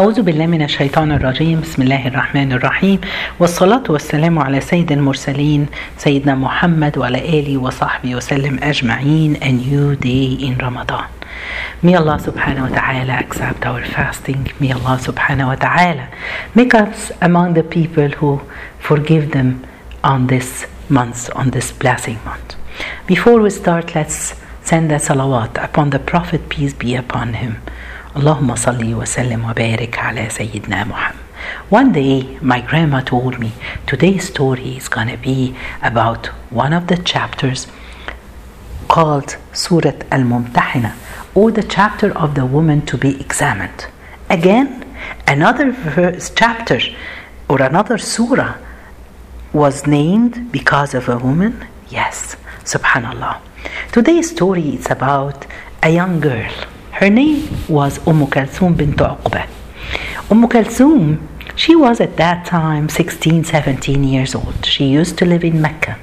أعوذ بالله من الشيطان الرجيم. بسم الله الرحمن الرحيم، والصلاة والسلام على سيد المرسلين سيدنا محمد وعلى آله وصحبه وسلم أجمعين. A new day in Ramadan. May Allah subhanahu wa ta'ala accept our fasting. May Allah subhanahu wa ta'ala make us among the people who forgive them on this month, on this blessing month. Before we start, let's send a salawat upon the Prophet, peace be upon him. Allahumma salli wa sallim wa barik ala Sayyidina Muhammad. One day, my grandma told me, today's story is going to be about one of the chapters called Surat Al-Mumtahina, or the chapter of the woman to be examined. Again, another chapter or another surah was named because of a woman. Yes, subhanallah. Today's story is about a young girl. Her name was Kulthum bint Uqba. Kulthum, she was at that time 16, 17 years old. She used to live in Mecca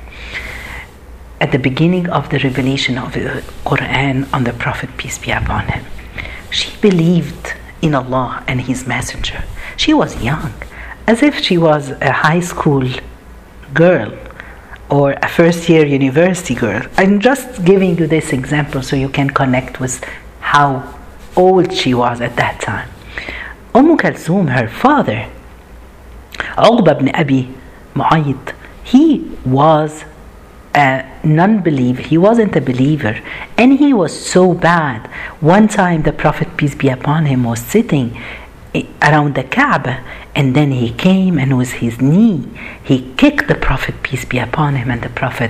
at the beginning of the revelation of the Quran on the Prophet, peace be upon him. She believed in Allah and His Messenger. She was young, as if she was a high school girl or a first-year university girl. I'm just giving you this example so you can connect with how old she was at that time. Kulthum, her father, Uqba ibn Abi Mu'ayyid, he was a non-believer. He wasn't a believer, and he was so bad. One time the Prophet, peace be upon him, was sitting around the Kaaba, and then he came and with his knee he kicked the Prophet, peace be upon him, and the Prophet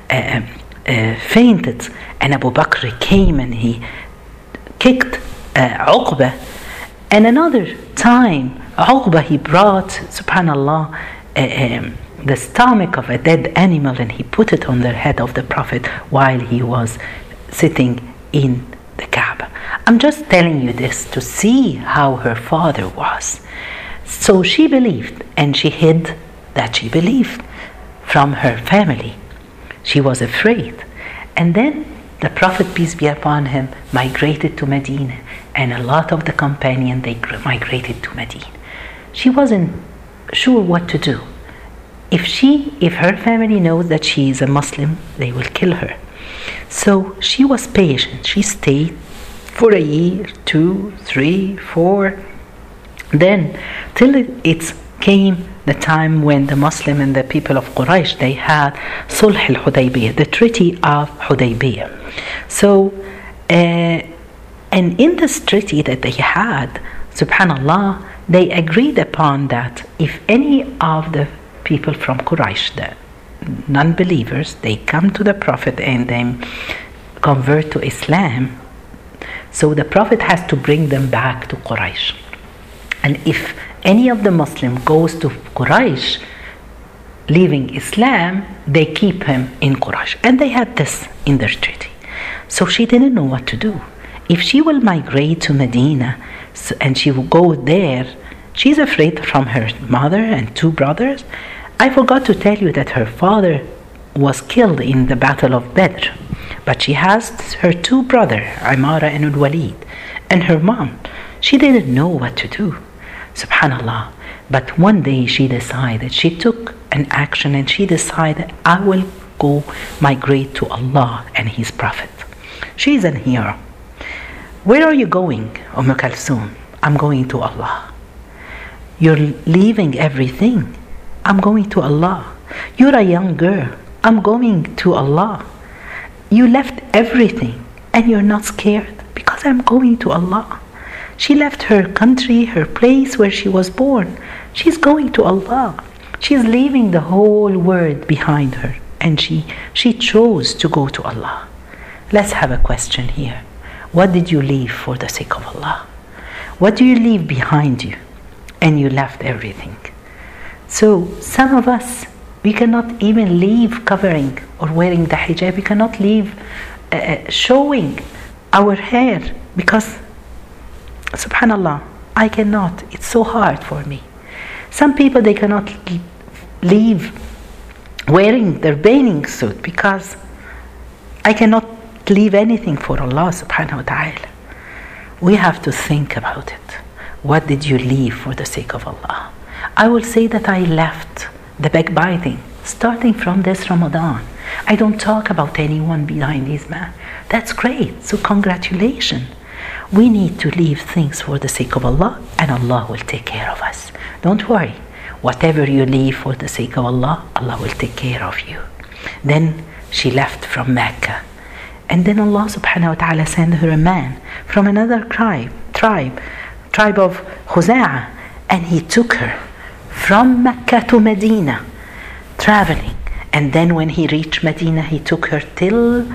fainted, and Abu Bakr came and he kicked Uqba. And another time Uqba, he brought, subhanallah, the stomach of a dead animal, and he put it on the head of the Prophet while he was sitting in the Kaaba. I'm just telling you this to see how her father was. So she believed, and she hid that she believed from her family. She was afraid. And then the Prophet, peace be upon him, migrated to Medina, and a lot of the companions, they migrated to Medina. She wasn't sure what to do. If her family knows that she is a Muslim, they will kill her. So she was patient. She stayed for a year, 2, 3, 4. Then till it came the time when the Muslim and the people of Quraysh, they had Sulh al-Hudaybiyah, the Treaty of Hudaybiyah. So, and in this treaty that they had, subhanallah, they agreed upon that if any of the people from Quraysh, the non-believers, they come to the Prophet and then convert to Islam, so the Prophet has to bring them back to Quraysh. And if any of the Muslim goes to Quraysh leaving Islam, they keep him in Quraysh. And they had this in their treaty. So she didn't know what to do. If she will migrate to Medina and she will go there, she's afraid from her mother and 2 brothers. I forgot to tell you that her father was killed in the Battle of Badr. But she has her 2 brothers, Imara and Al-Walid, and her mom. She didn't know what to do. Subhanallah. But one day she decided, she took an action, and she decided, I will go migrate to Allah and His Prophet. She's an hero. Where are you going, Kulthum? I'm going to Allah. You're leaving everything. I'm going to Allah. You're a young girl. I'm going to Allah. You left everything and you're not scared, because I'm going to Allah. She left her country, her place where she was born. She's going to Allah. She's leaving the whole world behind her, and she chose to go to Allah. Let's have a question here. What did you leave for the sake of Allah? What do you leave behind you? And you left everything. So some of us, we cannot even leave covering or wearing the hijab. We cannot leave showing our hair, because subhanallah, I cannot. It's so hard for me. Some people, they cannot leave wearing their bathing suit, because I cannot leave anything for Allah subhanahu wa ta'ala. We have to think about it. what did you leave for the sake of Allah? I will say that I left the backbiting, starting from this Ramadan. I don't talk about anyone behind his man. That's great. So congratulations. We need to leave things for the sake of Allah, and Allah will take care of us. Don't worry. Whatever you leave for the sake of Allah, Allah will take care of you. Then she left from Mecca. And then Allah subhanahu wa ta'ala sent her a man from another tribe of Khuza'ah. And he took her from Mecca to Medina, traveling. And then when he reached Medina, he took her till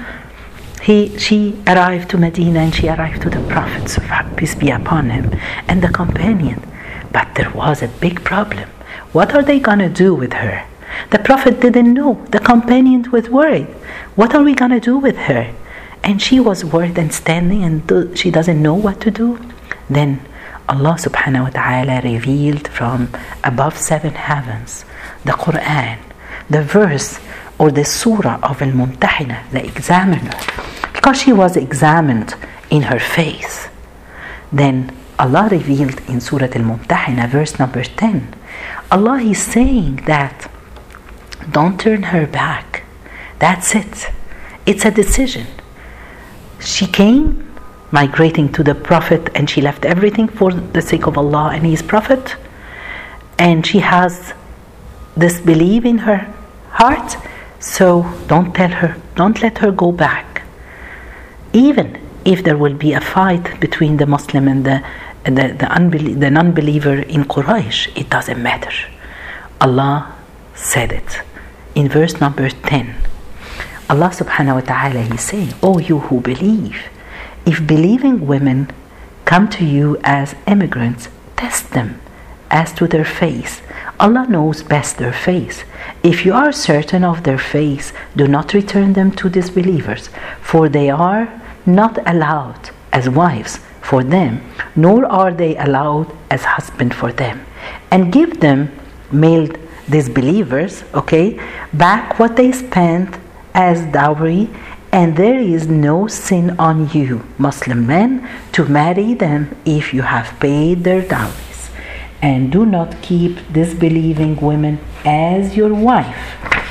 she arrived to Medina, and she arrived to the Prophet, peace be upon him, and the companion. But there was a big problem. What are they going to do with her? The Prophet didn't know. The companions was worried. What are we going to do with her? And she was worried and standing, and she doesn't know what to do. Then Allah subhanahu wa ta'ala revealed from above 7 heavens the Quran, the verse or the surah of Al-Mumtahina, the examiner, because she was examined in her faith. Then Allah revealed in Surah Al-Mumtahina, verse number 10, Allah is saying that don't turn her back. That's it. It's a decision. She came migrating to the Prophet, and she left everything for the sake of Allah and His Prophet, and she has this belief in her heart. So don't let her go back. Even if there will be a fight between the Muslim and the non-believer in Quraysh, it doesn't matter. Allah said it in verse number 10. Allah subhanahu wa ta'ala, He's saying, "Oh, you who believe, if believing women come to you as immigrants, test them as to their faith. Allah knows best their faith. If you are certain of their faith, do not return them to disbelievers, for they are not allowed as wives for them, nor are they allowed as husband for them. And give them, male disbelievers, back what they spent as dowry, and there is no sin on you, Muslim men, to marry them if you have paid their dowries. And do not keep disbelieving women as your wife."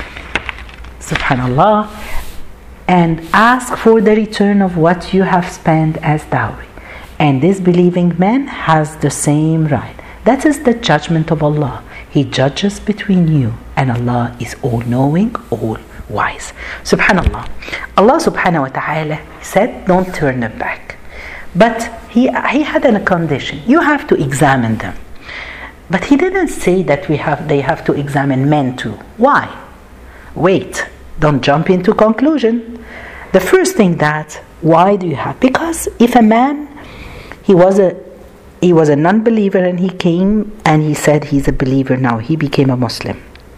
Subhanallah. "And ask for the return of what you have spent as dowry. And disbelieving man has the same right. That is the judgment of Allah. He judges between you, and Allah is all-knowing, all-wise." Subhanallah. Allah subhanahu wa ta'ala said, don't turn them back. But he had a condition. You have to examine them. But He didn't say that they have to examine men too. Why? Wait, don't jump into conclusion. The first thing why do you have? Because if a man, he was a non-believer, and he came and he said he's a believer now, he became a Muslim.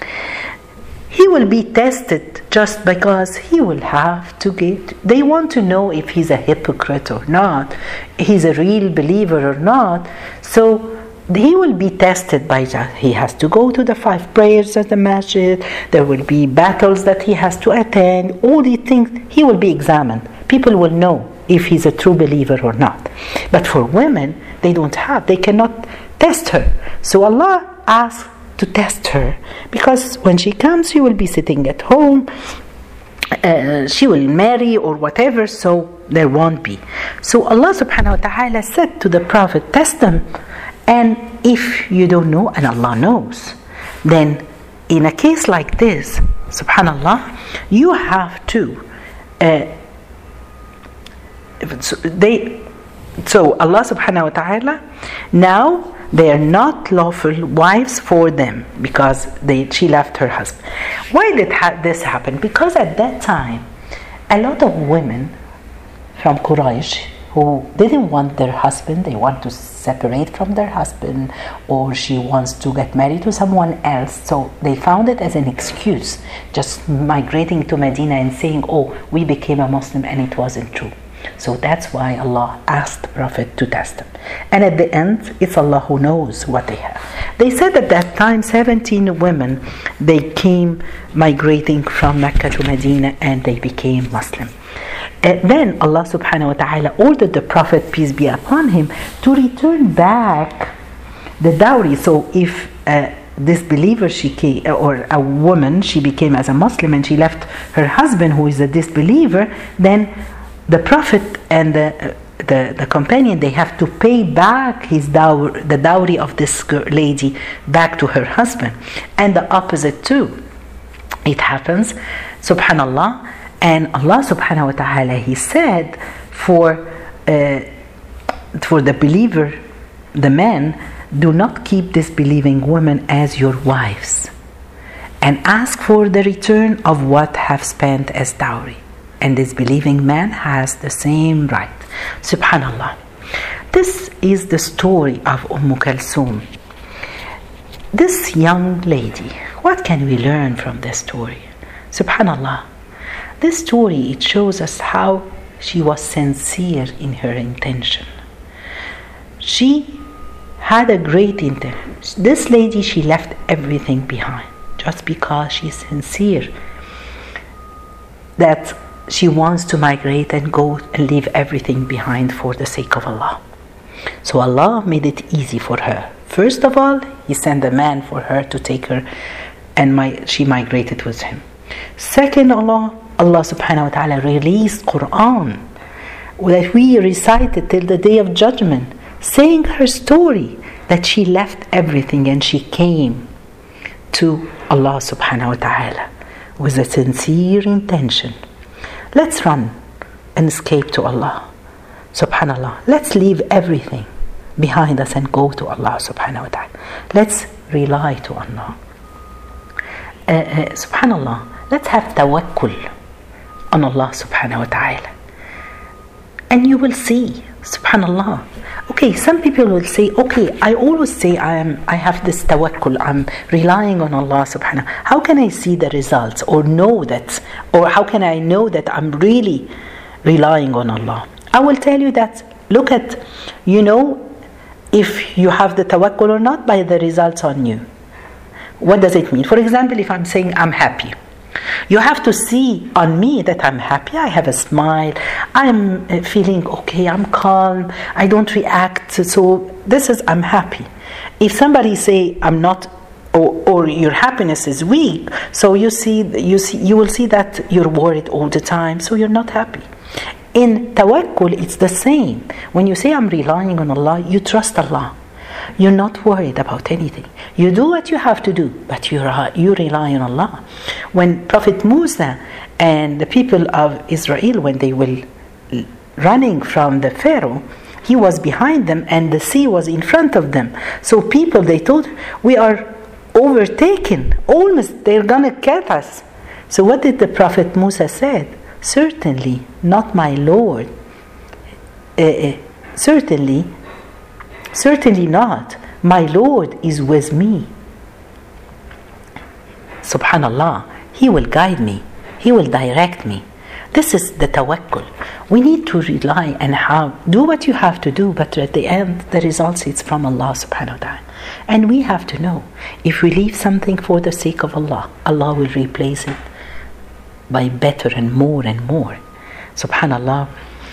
He will be tested just because he will have to they want to know if he's a hypocrite or not, he's a real believer or not. So he will be tested by that. He has to go to the 5 prayers at the masjid. There will be battles that he has to attend. All these things, he will be examined. People will know if he's a true believer or not. But for women, they cannot test her. So Allah asked to test her, because when she comes, she will be sitting at home. She will marry or whatever, so there won't be. So Allah subhanahu wa ta'ala said to the Prophet, test them. And if you don't know, and Allah knows, then in a case like this, subhanallah, you have to so Allah subhanahu wa ta'ala, now they are not lawful wives for them, because she left her husband. Why did this happen? Because at that time, a lot of women from Quraysh who didn't want their husband, they want to separate from their husband, or she wants to get married to someone else, so they found it as an excuse, just migrating to Medina and saying, oh, we became a Muslim, and it wasn't true. So that's why Allah asked the Prophet to test them. And at the end, it's Allah who knows what they have. They said at that time, 17 women, they came migrating from Mecca to Medina, and they became Muslim. Then Allah subhanahu wa ta'ala ordered the Prophet, peace be upon him, to return back the dowry. So if disbeliever she came, or a woman, she became as a Muslim and she left her husband who is a disbeliever, then the Prophet and the companion, they have to pay back the dowry of this lady back to her husband. And the opposite too. It happens, subhanallah. And Allah subhanahu wa ta'ala, He said for the believer, the man, do not keep disbelieving women as your wives, and ask for the return of what have spent as dowry. And this believing man has the same right. Subhanallah. This is the story of Kulthum. This young lady, what can we learn from this story? Subhanallah. This story, it shows us how she was sincere in her intention. She had a great intention. This lady, she left everything behind just because she's sincere that she wants to migrate and go and leave everything behind for the sake of Allah. So Allah made it easy for her. First of all, He sent a man for her to take her, and she migrated with him. Second, Allah subhanahu wa ta'ala released Quran that we recited till the day of judgment, saying her story that she left everything and she came to Allah subhanahu wa ta'ala with a sincere intention. Let's run and escape to Allah. Subhanallah. Let's leave everything behind us and go to Allah subhanahu wa ta'ala. Let's rely to Allah. Subhanallah. Let's have tawakkul on Allah subhanahu wa ta'ala. And you will see, subhanallah. Okay, some people will say, okay, I always say I have this tawakkul, I'm relying on Allah subhanahu. How can I see the results or know that, or how can I know that I'm really relying on Allah? I will tell you that, look at, if you have the tawakkul or not by the results on you. What does it mean? For example, if I'm saying I'm happy, you have to see on me that I'm happy. I have a smile. I'm feeling okay. I'm calm. I don't react. So this is, I'm happy. If somebody say I'm not, or your happiness is weak, so you will see that you're worried all the time. So you're not happy. In tawakkul, it's the same. When you say I'm relying on Allah, you trust Allah. You're not worried about anything. You do what you have to do, but you rely on Allah. When Prophet Musa and the people of Israel, when they were running from the Pharaoh, he was behind them and the sea was in front of them. So people, they thought, we are overtaken. Almost, they're going to get us. So what did the Prophet Musa said? Certainly not, my Lord. Certainly not. My Lord is with me. Subhanallah. He will guide me. He will direct me. This is the tawakkul. We need to rely and do what you have to do, but at the end, the results is from Allah subhanahu wa ta'ala. And we have to know, if we leave something for the sake of Allah, Allah will replace it by better and more and more. Subhanallah.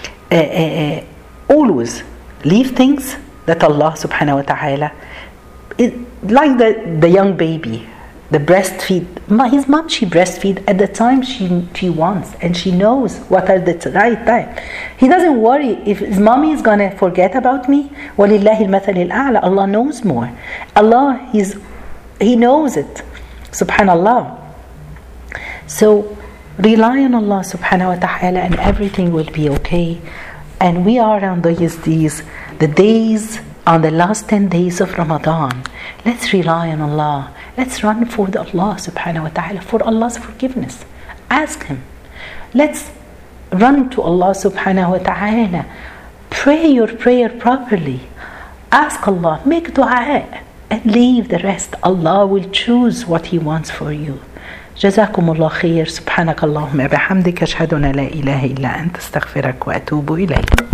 Always leave things that Allah subhanahu wa ta'ala, like the young baby, the breastfeed. His mom, she breastfeed at the time she wants, and she knows what are the right time. He doesn't worry if his mommy is gonna forget about me. وَلِلَّهِ الْمَثَلِ الْأَعْلَى. Allah knows more. Allah, He knows it. Subhanallah. So rely on Allah subhanahu wa ta'ala and everything will be okay. And we are on the days, on the last 10 days of Ramadan. Let's rely on Allah. Let's run for Allah subhanahu wa ta'ala, for Allah's forgiveness. Ask Him. Let's run to Allah subhanahu wa ta'ala. Pray your prayer properly. Ask Allah. Make dua. And leave the rest. Allah will choose what He wants for you. جزاكم الله خير. سبحانك اللهم وبحمدك أشهد أن لا إله إلا أنت أستغفرك وأتوب إليك.